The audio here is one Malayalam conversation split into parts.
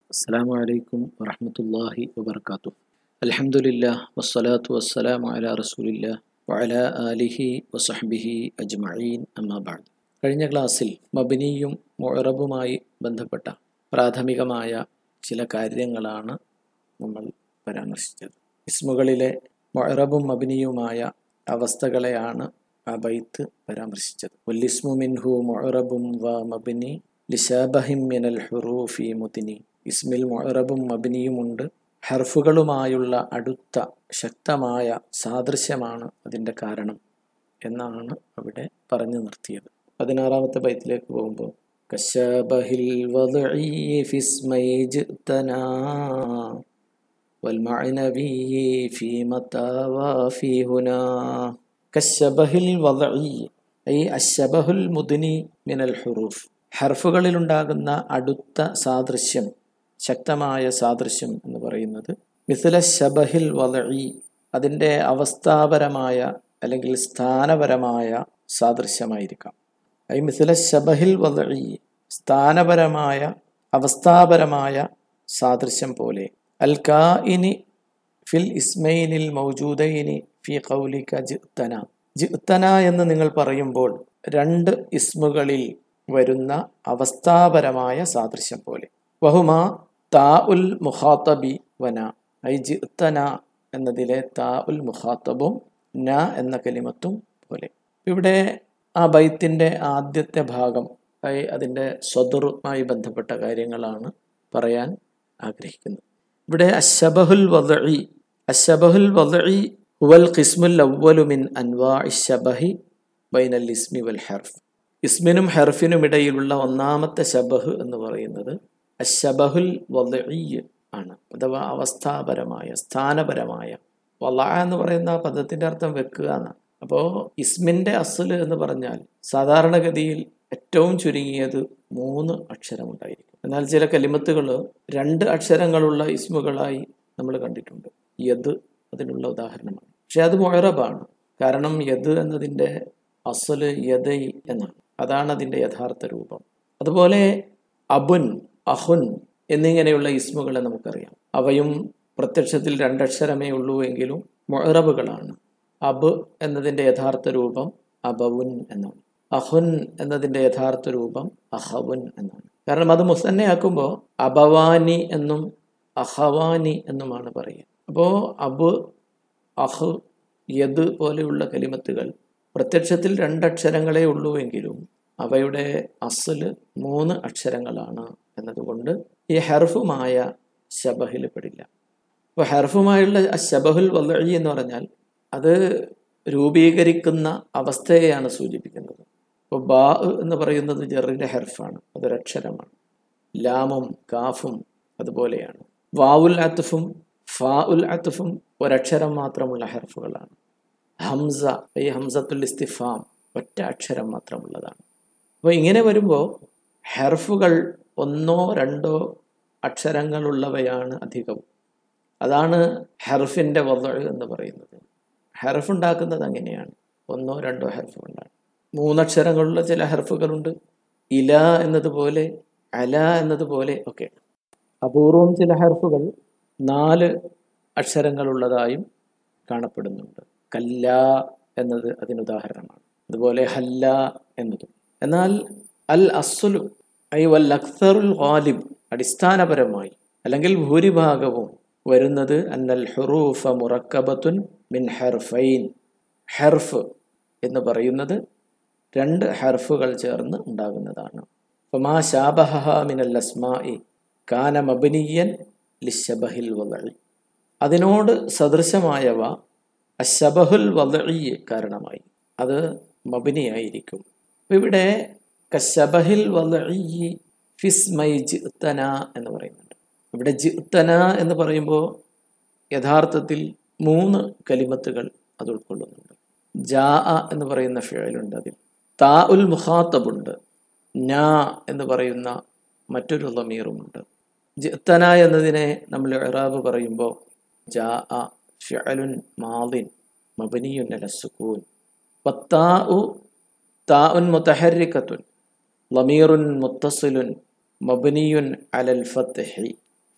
അസ്സലാമു അലൈക്കും വറഹ്മത്തുള്ളാഹി വബറകാതുഹു. അൽഹംദുലില്ലാഹ് വസ്സലാത്തു വസ്സലാമു അലാ റസൂലില്ലാഹ് വഅലാ ആലിഹി വസഹ്ബിഹി അജ്മഈൻ അമ്മാ ബഅദ്. കഴിഞ്ഞ ക്ലാസ്സിൽ മബ്നിയും മുഅറബുമായി ബന്ധപ്പെട്ട പ്രാഥമികമായ ചില കാര്യങ്ങളാണ് നമ്മൾ പരാമർശിച്ചത്. ഇസ്മുകളിലെ മുഅറബും മബ്നിയുമായ അവസ്ഥകളെയാണ് ആ ബൈത്ത് പരാമർശിച്ചത്. വല്ലിസ്മു മിൻഹു മുഅറബും വ മബ്നി ലിശാബഹിൻ മിനൽ ഹുറൂഫി മുദ്നി. ഇസ്മിൽ മുഅറബും മബ്നിയുമുണ്ട്, ഹർഫുകളുമായുള്ള അടുത്ത ശക്തമായ സാദൃശ്യമാണ് അതിൻ്റെ കാരണം എന്നാണ് അവിടെ പറഞ്ഞു നിർത്തിയത്. 16-ാമത്തെ ബൈത്തിലേക്ക് പോകുമ്പോൾ കശബഹിൽ വദ്ഇ ഫിസ്മൈ ജിതനാ വൽ മഅനവി ഫീ മതാ വഫീ ഹുനാ. കശബഹിൽ വദ്ഇ ഐ അശ്ശബഹുൽ മുദ്നി മിനൽ ഹുറൂഫ്. ഹർഫുകളിലുണ്ടാകുന്ന അടുത്ത സാദൃശ്യം, ശക്തമായ സാദൃശ്യം എന്ന് പറയുന്നത് മിസ്ല ശബഹിൽ വദ്ഇ, അതിൻ്റെ അവസ്ഥാപരമായ അല്ലെങ്കിൽ സ്ഥാനപരമായ സാദൃശ്യമായിരിക്കാം. ഐ മിസ്ല ശബഹിൽ വദ്ഇ, സ്ഥാനപരമായ അവസ്ഥാപരമായ സാദൃശ്യം പോലെ. അൽ കാഇനി ഫിൽ ഇസ്മൈനിൽ മൗജൂദൈനി ഫി ഖൗലിക ജിഅ്തന. ജിഅ്തന എന്ന് നിങ്ങൾ പറയുമ്പോൾ രണ്ട് ഇസ്മുകളിൽ വരുന്ന അവസ്ഥാപരമായ സാദൃശ്യം പോലെ. വഹുമാ താ ഉൽ മുഖാത്തബി വന. ഐ ജിഅ്തന എന്നതിലെ താ ഉൽ മുഖാത്തബും ന എന്ന കലിമത്തും പോലെ. ഇവിടെ ആ ബൈത്തിൻ്റെ ആദ്യത്തെ ഭാഗം അതിൻ്റെ സ്വദറുമായി ബന്ധപ്പെട്ട കാര്യങ്ങളാണ് പറയാൻ ആഗ്രഹിക്കുന്നത്. ഇവിടെ അശ്ശബഹുൽ വദ്ഇ, അശ്ശബഹുൽ വദ്ഇ ഹുവൽ ഖിസ്മുൽ അവ്വലു മിൻ അൻവാഇ ശബഹി ബൈനൽ ഇസ്മി വൽ ഹർഫ്. ഇസ്മിനും ഹർഫിനും ഇടയിലുള്ള ഒന്നാമത്തെ ശബഹ് എന്ന് പറയുന്നത് അശ്ശബഹുൽ വദ്ഇ ആണ്, അഥവാ അവസ്ഥാപരമായ സ്ഥാനപരമായ. വളഅ എന്ന് പറയുന്ന പദത്തിൻ്റെ അർത്ഥം വെക്കുക എന്നാണ്. അപ്പോൾ ഇസ്മിൻ്റെ അസ്ല് എന്ന് പറഞ്ഞാൽ സാധാരണഗതിയിൽ ഏറ്റവും ചുരുങ്ങിയത് 3 അക്ഷരമുണ്ടായിരിക്കും. എന്നാൽ ചില കലിമത്തുകൾ 2 അക്ഷരങ്ങളുള്ള ഇസ്മുകളായി നമ്മൾ കണ്ടിട്ടുണ്ട്. യദ് അതിനുള്ള ഉദാഹരണമാണ്. പക്ഷെ അത് മുഅറബാണ്. കാരണം യദ് എന്നതിൻ്റെ അസ്ല് യദൈ എന്നാണ്. അതാണ് അതിൻ്റെ യഥാർത്ഥ രൂപം. അതുപോലെ അബുൻ, അഹുൻ എന്നിങ്ങനെയുള്ള ഇസ്മുകളെ നമുക്കറിയാം. അവയും പ്രത്യക്ഷത്തിൽ 2 അക്ഷരമേ ഉള്ളൂ എങ്കിലും മുഅറബുകളാണ്. അബ് എന്നതിൻ്റെ യഥാർത്ഥ രൂപം അബവുൻ എന്നാണ്. അഹുൻ എന്നതിൻ്റെ യഥാർത്ഥ രൂപം അഹവുൻ എന്നാണ്. കാരണം അത് മുസന്നയാക്കുമ്പോൾ അബവാനി എന്നും അഹവാനി എന്നുമാണ് പറയുക. അപ്പോൾ അബ്, അഹ്, യദ് പോലെയുള്ള കലിമത്തുകൾ പ്രത്യക്ഷത്തിൽ 2 അക്ഷരങ്ങളേ ഉള്ളൂ എങ്കിലും അവയുടെ അസ്ല് 3 അക്ഷരങ്ങളാണ് എന്നതുകൊണ്ട് ഈ ഹർഫുമായ ശബഹിൽ പെടില്ല. അപ്പോൾ ഹർഫുമായുള്ള ശബഹുൽ വദ്ഇ എന്ന് പറഞ്ഞാൽ അത് രൂപീകരിക്കുന്ന അവസ്ഥയെയാണ് സൂചിപ്പിക്കുന്നത്. ഇപ്പോൾ ബാ എന്ന് പറയുന്നത് ജറിൻ്റെ ഹർഫാണ്, അതൊരക്ഷരമാണ്. ലാമും കാഫും അതുപോലെയാണ്. വാവുൽ അത്ഫും ഫാ ഉൽ അത്ഫും ഒരക്ഷരം മാത്രമുള്ള ഹർഫുകളാണ്. ഹംസ, ഈ ഹംസത്തുൽ ഇസ്തിഫാം ഒറ്റ അക്ഷരം മാത്രമുള്ളതാണ്. അപ്പോൾ ഇങ്ങനെ വരുമ്പോൾ ഹർഫുകൾ 1-2 അക്ഷരങ്ങളുള്ളവയാണ് അധികവും. അതാണ് ഹർഫിൻ്റെ വദ്ഇ എന്ന് പറയുന്നത്. ഹർഫ് ഉണ്ടാക്കുന്നത് അങ്ങനെയാണ്, 1-2 ഹർഫുകളാണ്. 3 അക്ഷരങ്ങളുള്ള ചില ഹർഫുകളുണ്ട്, ഇല എന്നതുപോലെ, അല എന്നതുപോലെ ഒക്കെ. അപൂർവം ചില ഹർഫുകൾ 4 അക്ഷരങ്ങളുള്ളതായും കാണപ്പെടുന്നുണ്ട്. കല്ല എന്നത് അതിനുദാഹരണമാണ്. അതുപോലെ ഹല്ല എന്നതും. എന്നാൽ അൽ അസ്ലു ഐ വൽ അക്സറുൽ ഗാലിബ്, അടിസ്ഥാനപരമായി അല്ലെങ്കിൽ ഭൂരിഭാഗവും വരുന്നത് അന്നൽ ഹുറൂഫ മുറക്കബത്തുൻ മിൻ ഹർഫൈൻ. ഹർഫ് എന്ന് പറയുന്നത് 2 ഹർഫുകൾ ചേർന്ന് ഉണ്ടാകുന്നതാണ്. ഫമാ ശാബഹഹ മിനൽ അസ്മാഇ കാന മബ്നിയൻ ലിശബഹിൽ വദ്ഇ. അതിനോട് സദൃശമായവ അശ്ശബഹുൽ വദ്ഇ കാരണമായി അത് മബ്നിയായിരിക്കും. ഇവിടെ കശബഹിൽ വദ്ഇ ഫിസ്മൈ ജിഅ്തന എന്ന് പറയുന്നുണ്ട്. ഇവിടെ ജിഅ്തന എന്ന് പറയുമ്പോൾ യഥാർത്ഥത്തിൽ 3 കലിമത്തുകൾ അത് ഉൾക്കൊള്ളുന്നുണ്ട്. ജാ എന്ന് പറയുന്ന ഫിഅലുണ്ട്, അതിൽ താ ഉൽ മുഖാത്തബുണ്ട്, നാ എന്ന് പറയുന്ന മറ്റൊരു ളമീറുമുണ്ട്. ജിഅ്തന എന്നതിനെ നമ്മൾ ഇഅ്റാബ് പറയുമ്പോൾ ജാ ഫിഅലുൻ മാദിൻ മബ്നിയുൻ അല സുകൂൻ വത്താഉ താഉൻ മുതഹർരികത്തുൻ ളമീറുൻ മുത്തസിലുൻ മബ്നിയുൻ അലൽ ഫത്ഹി.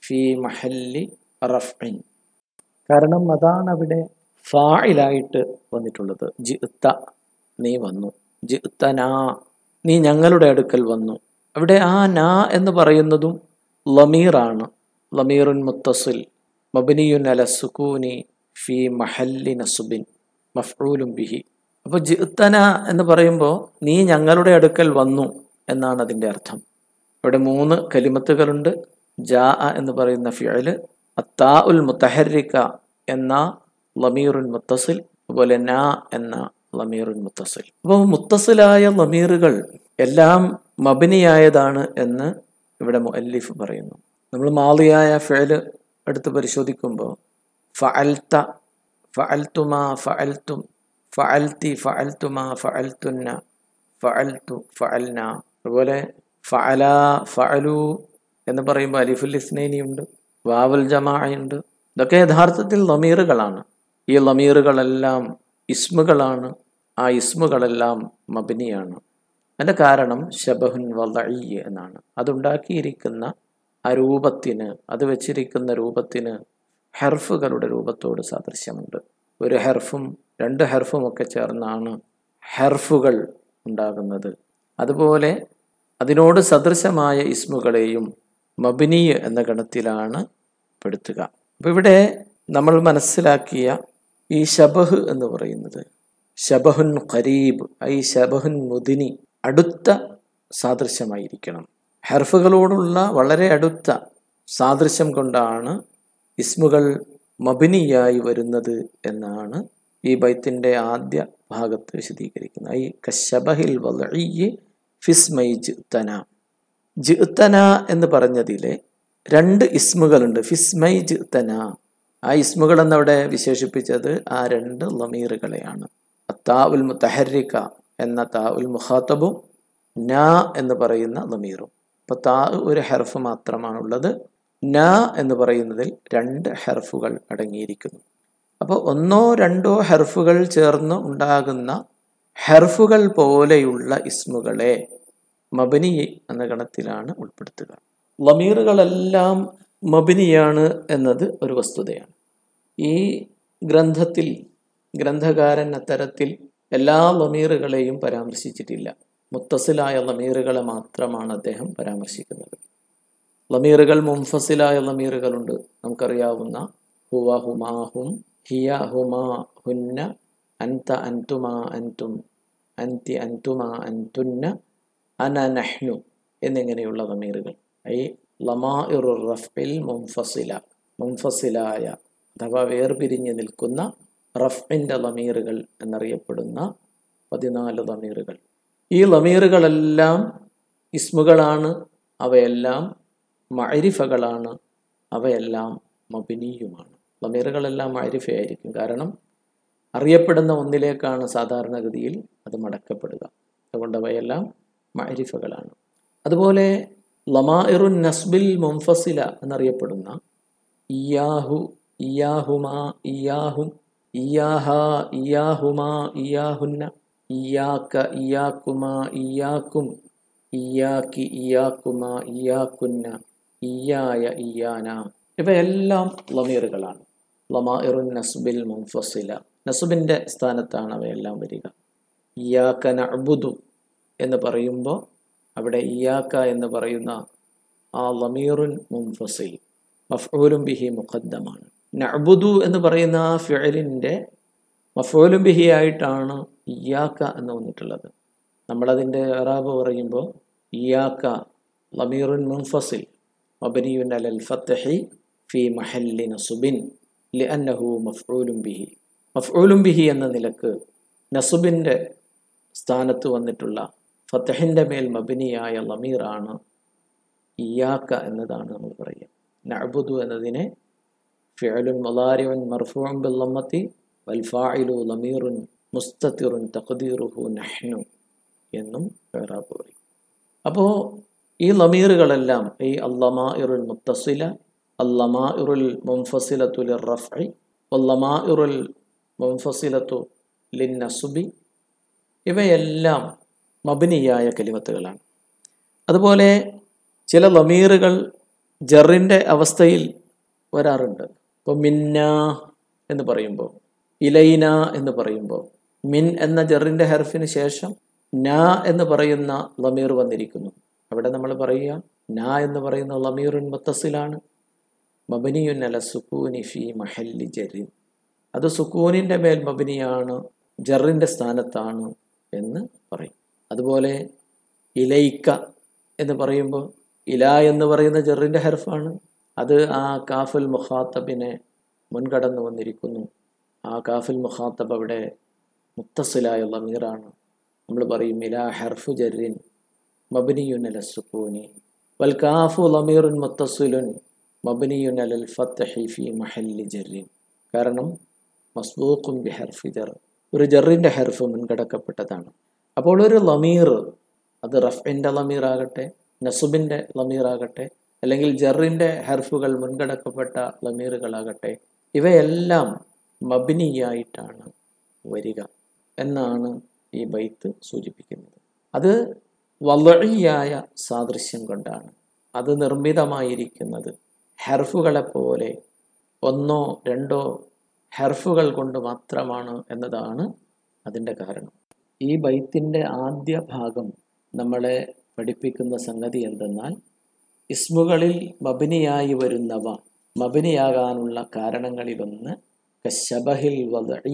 ഫി മഹല്ലി റഫ്ഇൻ. കാരണം അതാണ് അവിടെ ഫാഇലായിട്ട് വന്നിട്ടുള്ളത്. ജിഅ്ത, നീ വന്നു. ജിഅ്തനാ, നീ ഞങ്ങളുടെ അടുക്കൽ വന്നു. അവിടെ ആ നാ എന്ന് പറയുന്നതും ലമീറാണ്. ലമീറുൻ മുത്തസിൽ മബ്നിയുൻ അല സുകൂനി ഫി മഹല്ലി നസ്ബിൻ മഫ്ഊലുൻ ബിഹി. അപ്പോൾ ജിഅ്തന എന്ന് പറയുമ്പോൾ നീ ഞങ്ങളുടെ അടുക്കൽ വന്നു എന്നാണ് അതിൻ്റെ അർത്ഥം. ഇവിടെ 3 കലിമത്തുകളുണ്ട്. ജാ എന്ന് പറയുന്ന ഫിഅല്, അത്താ ഉൽ മുത്തഹരിക എന്ന ലമീറുൻ മുത്തസിൽ, അതുപോലെ നാ എന്ന ലമീറുൻ മുത്തസിൽ. അപ്പോൾ മുത്തസിലായ ലമീറുകൾ എല്ലാം മബ്നിയായതാണ് എന്ന് ഇവിടെ മുഅല്ലിഫ് പറയുന്നു. നമ്മൾ മാളിയായ ഫിഅല് എടുത്ത് പരിശോധിക്കുമ്പോൾ ഫഅൽത, ഫഅൽതുമാ, ഫഅൽതും, ഫഅൽതി, ഫഅൽതുമാ, ഫഅൽതുന്ന, ഫഅൽതു, ഫഅൽന. അതുപോലെ ഫഅല, ഫഅലു എന്ന് പറയുമ്പോൾ അലിഫുൽ ഇസ്നൈനി ഉണ്ട്, വാവുൽ ജമാഅയുണ്ട്. ഇതൊക്കെ യഥാർത്ഥത്തിൽ ലമീറുകളാണ്. ഈ ലമീറുകളെല്ലാം ഇസ്മുകളാണ്. ആ ഇസ്മുകളെല്ലാം മബ്നിയാണ്. അതിൻ്റെ കാരണം ശബഹുൻ വദഈ എന്നാണ്. അതുണ്ടാക്കിയിരിക്കുന്ന ആ രൂപത്തിന്, അത് വെച്ചിരിക്കുന്ന രൂപത്തിന് ഹെർഫുകളുടെ രൂപത്തോട് സാദൃശ്യമുണ്ട്. ഒരു ഹെർഫും 2 ഹെർഫും ഒക്കെ ചേർന്നാണ് ഹെർഫുകൾ ഉണ്ടാകുന്നത്. അതുപോലെ അതിനോട് സദൃശമായ ഇസ്മുകളെയും മബ്നി എന്ന ഗണത്തിലാണ് പെടുത്തുക. അപ്പോൾ ഇവിടെ നമ്മൾ മനസ്സിലാക്കിയ ഈ ശബഹ് എന്ന് പറയുന്നത് ശബഹുൻ ഖരീബ്, ഐ ശബഹുൻ മുദിനി, അടുത്ത സാദൃശ്യമായിരിക്കണം. ഹെർഫുകളോടുള്ള വളരെ അടുത്ത സാദൃശ്യം കൊണ്ടാണ് ഇസ്മുകൾ മബ്നിയായി വരുന്നത് എന്നാണ് ഈ ബൈത്തിൻ്റെ ആദ്യ ഭാഗത്ത് വിശദീകരിക്കുന്നത്. ഐ കശബഹിൽ വദഈ ഫിസ്മൈ ജിഅ്തന. ജിഅ്തന എന്ന് പറഞ്ഞതിലെ 2 ഇസ്മുകളുണ്ട്. ഫിസ്മൈ ജിഅ്തന, ആ ഇസ്മുകൾ എന്നവിടെ വിശേഷിപ്പിച്ചത് ആ 2 ലമീറുകളെയാണ്. അത്താ ഉൽ മുത്തഹരിക എന്ന താ ഉൽ മുഖാത്തബും നാ എന്ന് പറയുന്ന ലമീറും. അപ്പോൾ താ ഒരു ഹെർഫ് മാത്രമാണുള്ളത്. നാ എന്ന് പറയുന്നതിൽ 2 ഹെർഫുകൾ അടങ്ങിയിരിക്കുന്നു. അപ്പോൾ 1-2 ഹെർഫുകൾ ചേർന്ന് ഉണ്ടാകുന്ന ഹെർഫുകൾ പോലെയുള്ള ഇസ്മുകളെ മബ്നി എന്ന ഗണത്തിലാണ് ഉൾപ്പെടുത്തുക. ലമീറുകളെല്ലാം മബ്നിയാണ് എന്നത് ഒരു വസ്തുതയാണ്. ഈ ഗ്രന്ഥത്തിൽ ഗ്രന്ഥകാരൻ അത്തരത്തിൽ എല്ലാ ലമീറുകളെയും പരാമർശിച്ചിട്ടില്ല. മുത്തസിലായ ലമീറുകളെ മാത്രമാണ് അദ്ദേഹം പരാമർശിക്കുന്നത്. ലമീറുകൾ മുൻഫസിലായ ലമീറുകളുണ്ട്. നമുക്കറിയാവുന്ന ഹുവ, ഹുമാ, ഹും, ഹിയ, ഹുമാ, ഹുന്ന, അൻത, അൻതുമാ, അൻതും, അൻതി, അൻതുമാ, അൻതുന്ന, അന, നഹ്നു എന്നിങ്ങനെയുള്ള ലമീറുകൾ. ഐ ലമാഇറുർ റഫ്ഇൽ മുൻഫസില, മുൻഫസിലായ അഥവാ വേർപിരിഞ്ഞ് നിൽക്കുന്ന റഫ്ഇൻ്റെ ലമീറുകൾ എന്നറിയപ്പെടുന്ന 14 ലമീറുകൾ. ഈ ലമീറുകളെല്ലാം ഇസ്മുകളാണ്. അവയെല്ലാം മഅരിഫകളാണ്. അവയെല്ലാം മബ്നിയുമാണ്. ലമീറുകളെല്ലാം മഅരിഫയായിരിക്കും. കാരണം അറിയപ്പെടുന്ന ഒന്നിലേക്കാണ് സാധാരണഗതിയിൽ അത് മടക്കപ്പെടുക. അതുകൊണ്ട് അവയെല്ലാം മഅരിഫകളാണ്. അതുപോലെ ലമാഇറുൻ നസ്ബിൽ മുൻഫസില എന്നറിയപ്പെടുന്ന ഇയാഹു, ഇയാഹുമാ, ഇയാഹും, ഇയാഹ, ഇയാഹുമാ, ഇയാഹുന്ന, ഇയാക്ക, ഇയാക്കുമാ, ഇയാക്കും, ഇയാക്കി, ഇയാക്കുമാ, ഇയാക്കുന്ന, ഇയായ, ഇയാന, ഇവയെല്ലാം ലമീറുകളാണ്. ലമാഇറുൻ നസ്ബിൽ മുൻഫസില, നസ്ബിൻ്റെ സ്ഥാനത്താണ് അവയെല്ലാം വരിക. ഇയാക്ക നഅ്ബുദു എന്ന് പറയുമ്പോൾ അവിടെ ഇയാക്ക എന്ന് പറയുന്ന ആ ലമീറുൻ മുൻഫസിൽ മഫ്ഊലുൻ ബിഹി മുഖദ്ദമാണ്. നഅ്ബുദു എന്ന് പറയുന്ന ആ ഫിഅലിൻ്റെ മഫ്ഊലുൻ ബിഹി ആയിട്ടാണ് ഇയാക്ക എന്ന് വന്നിട്ടുള്ളത്. നമ്മളതിൻ്റെ ഇറാബ് പറയുമ്പോൾ ഇയാക്ക ലമീറുൻ മുൻഫസിൽ മബ്നിയുൻ അലൽ ഫത്ഹി ഫി മഹല്ലി നസ്ബിൻ ലിഅന്നഹു മഫ്ഊലുൻ ബിഹി. മഫ്ഊലുൻ ബിഹി എന്ന നിലക്ക് നസ്ബിൻ്റെ സ്ഥാനത്ത് വന്നിട്ടുള്ള ഫത്ഹിൻ്റെ മേൽ മബ്നിയായ ലമീറാണ് ഇയാക്ക എന്നതാണ് നമ്മൾ പറയുക. നഅ്ബുദു എന്നതിനെ ഫിഅലുൻ മുളാരിഉൻ മർഫൂഉൻ ബിൽ ലമ്മത്തി വൽ ഫാഇലു ലമീറുൻ മുസ്തതിറുൻ തഖ്ദീറുഹു നഹ്നു എന്നും ഇറാബ് പറയും. അപ്പോൾ ഈ ലമീറുകളെല്ലാം ഈ അല്ലമാഇറുൽ മുത്തസില, അല്ലമാഇറുൽ മുൻഫസിലത്തു ലിർറഫ്ഇ വല്ലമാഇറുൽ മുൻഫസിലത്തു ലിന്നസ്ബി, ഇവയെല്ലാം മബ്നിയായ കലിമത്തുകളാണ്. അതുപോലെ ചില ലമീറുകൾ ജറിൻ്റെ അവസ്ഥയിൽ വരാറുണ്ട്. ഇപ്പോൾ മിന്ന എന്ന് പറയുമ്പോൾ, ഇലൈന എന്ന് പറയുമ്പോൾ മിൻ എന്ന ജറിൻ്റെ ഹർഫിന് ശേഷം ന എന്ന് പറയുന്ന ലമീർ വന്നിരിക്കുന്നു. അവിടെ നമ്മൾ പറയുക ന എന്ന് പറയുന്ന ലമീറുൻ മുത്തസിലാണ്, മബനിയുൻ അല സുക്കൂനി ഫി മഹല്ലി ജറിൻ. അത് സുക്കൂനിൻ്റെ മേൽ മബനിയാണ്, ജറിൻ്റെ സ്ഥാനത്താണ് എന്ന് പറയും. അതുപോലെ ഇലൈക്ക എന്ന് പറയുമ്പോൾ ഇല എന്ന് പറയുന്ന ജറിൻ്റെ ഹർഫാണ്, അത് ആ കാഫുൽ മുഖാത്തബിനെ മുൻകടന്നു വന്നിരിക്കുന്നു. ആ കാഫുൽ മുഖാത്തബ് അവിടെ മുത്തസിലായ ലമീറാണ്. നമ്മൾ പറയും ഇലാ ഹർഫു ജറിൻ മബ്നിയുൻ അല സുക്കൂനി വൽ കാഫു ലമീറുൻ മുത്തസിലുൻ മബ്നിയുൻ അലൽ ഫത്ഹി ഫി മഹല്ലി ജറിൻ. കാരണം മസ്ബൂഖും ബി ഹർഫി ജർ, ഒരു ജറിൻ്റെ ഹർഫ് മുൻകടക്കപ്പെട്ടതാണ്. അപ്പോൾ ഒരു ലമീർ, അത് റഫ്ഇൻ്റെ ലമീർ ആകട്ടെ, നസുബിൻ്റെ ലമീർ ആകട്ടെ, അല്ലെങ്കിൽ ജറിൻ്റെ ഹർഫുകൾ മുൻകടക്കപ്പെട്ട ലമീറുകളാകട്ടെ, ഇവയെല്ലാം മബ്നിയായിട്ടാണ് വരിക എന്നാണ് ഈ ബൈത്ത് സൂചിപ്പിക്കുന്നത്. അത് വളഇയായ സാദൃശ്യം കൊണ്ടാണ്. അത് നിർമ്മിതമായിരിക്കുന്നത് ഹർഫുകളെപ്പോലെ ഒന്നോ രണ്ടോ ഹർഫുകൾ കൊണ്ട് മാത്രമാണ് എന്നതാണ് അതിൻ്റെ കാരണം. ഈ ബൈത്തിൻ്റെ ആദ്യ ഭാഗം നമ്മളെ പഠിപ്പിക്കുന്ന സംഗതി എന്തെന്നാൽ, ഇസ്മുകളിൽ മബ്നിയായി വരുന്നവ മബ്നിയാകാനുള്ള കാരണങ്ങളിലൊന്ന് കശബഹിൽ വദഈ,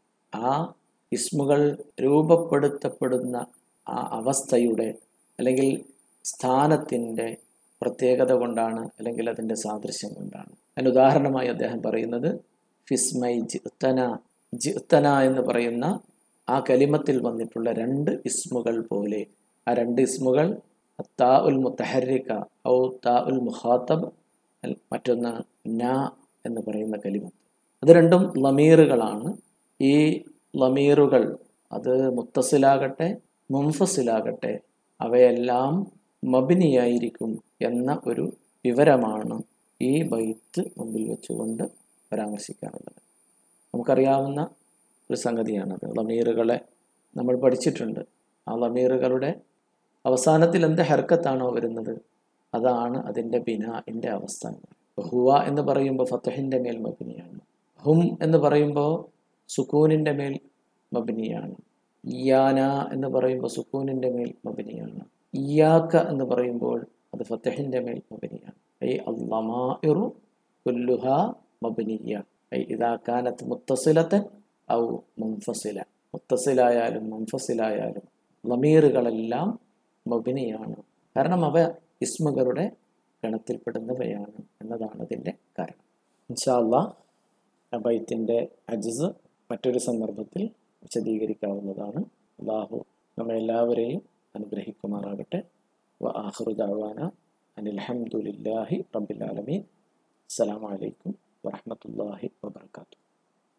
ആ ഇസ്മുകൾ രൂപപ്പെടുത്തപ്പെടുന്ന ആ അവസ്ഥയുടെ അല്ലെങ്കിൽ സ്ഥാനത്തിൻ്റെ പ്രത്യേകത കൊണ്ടാണ്, അല്ലെങ്കിൽ അതിൻ്റെ സാദൃശ്യം കൊണ്ടാണ്. അതിന് ഉദാഹരണമായി അദ്ദേഹം പറയുന്നത് ഫിസ്മൈ ജിഅ്തന, ജിഅ്തന എന്ന് പറയുന്ന ആ കലിമത്തിൽ വന്നിട്ടുള്ള രണ്ട് ഇസ്മുകൾ പോലെ. ആ രണ്ട് ഇസ്മുകൾ താ ഉൽ മുത്തഹരിക ഔ താ ഉൽ മുഖാത്തബ്, മറ്റൊന്ന് ന എന്ന് പറയുന്ന കലിമത്ത്. അത് രണ്ടും ലമീറുകളാണ്. ഈ ലമീറുകൾ അത് മുത്തസിലാകട്ടെ മുൻഫസിലാകട്ടെ അവയെല്ലാം മബ്നിയായിരിക്കും എന്ന ഒരു വിവരമാണ് ഈ ബൈത്ത് മുമ്പിൽ വെച്ചുകൊണ്ട് പരാമർശിക്കാറുള്ളത്. നമുക്കറിയാവുന്ന ഒരു സംഗതിയാണത്. ലമീറുകളെ നമ്മൾ പഠിച്ചിട്ടുണ്ട്. ആ ലമീറുകളുടെ അവസാനത്തിൽ എന്ത് ഹർക്കത്താണോ വരുന്നത് അതാണ് അതിൻ്റെ ബിനാഇൻ്റെ അവസ്ഥ. ഹുവ എന്ന് പറയുമ്പോൾ ഫത്ഹിൻ്റെ മേൽ മബ്നിയാണ്. ഹും എന്ന് പറയുമ്പോൾ സുക്കൂനിൻ്റെ മേൽ മബ്നിയാണ്. ഇയാന എന്ന് പറയുമ്പോൾ സുക്കൂനിൻ്റെ മേൽ മബ്നിയാണ്. ഇയാക്ക എന്ന് പറയുമ്പോൾ അത് ഫത്ഹിൻ്റെ മേൽ മബ്നിയാണ്. ഐ അൽളമാഇറു കുല്ലുഹാ മബ്നിയ, ഐ ഇദാ കാനത്ത് മുത്തസിലത്തൻ ഔ മുൻഫസില. മുത്തസിലായാലും മുൻഫസിലായാലും ലമീറുകളെല്ലാം മബ്നിയാണ്. കാരണം അവ ഇസ്മുകളുടെ ഗണത്തിൽപ്പെടുന്നവയാണ് എന്നതാണ് അതിൻ്റെ കാരണം. ഇൻഷാ അല്ലാഹ് ബൈത്തിൻ്റെ അജ്സ് മറ്റൊരു സന്ദർഭത്തിൽ വിശദീകരിക്കാവുന്നതാണ്. അല്ലാഹു നമ്മെല്ലാവരെയും അനുഗ്രഹിക്കുമാറാകട്ടെ. വ ആഖിറു ദഅവാന അനിൽ ഹംദുലില്ലാഹി റബ്ബിൽ ആലമീൻ. അസ്സലാമു അലൈക്കും വറഹ്മത്തുള്ളാഹി വബറകാതുഹു.